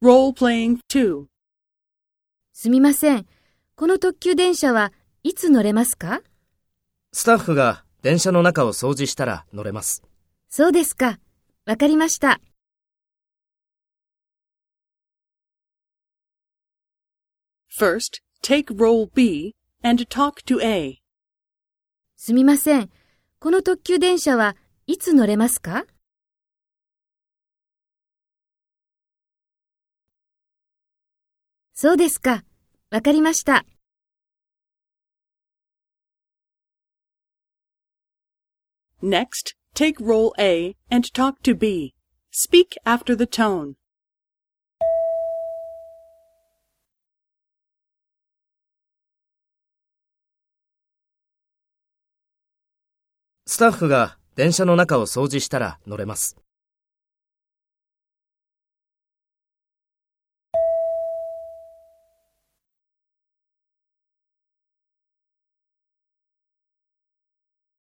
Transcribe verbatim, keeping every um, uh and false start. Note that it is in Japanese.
Role-playing two. すみません。この特急電車はいつ乗れますか？ スタッフが電車の中を掃除したら乗れます。 そうですか。わかりました。 First, take role B and talk to A. すみません。この特急電車はいつ乗れますか？そうですか。わかりました。 Next, take role A and talk to B. Speak after the tone. スタッフが電車の中を掃除したら乗れます。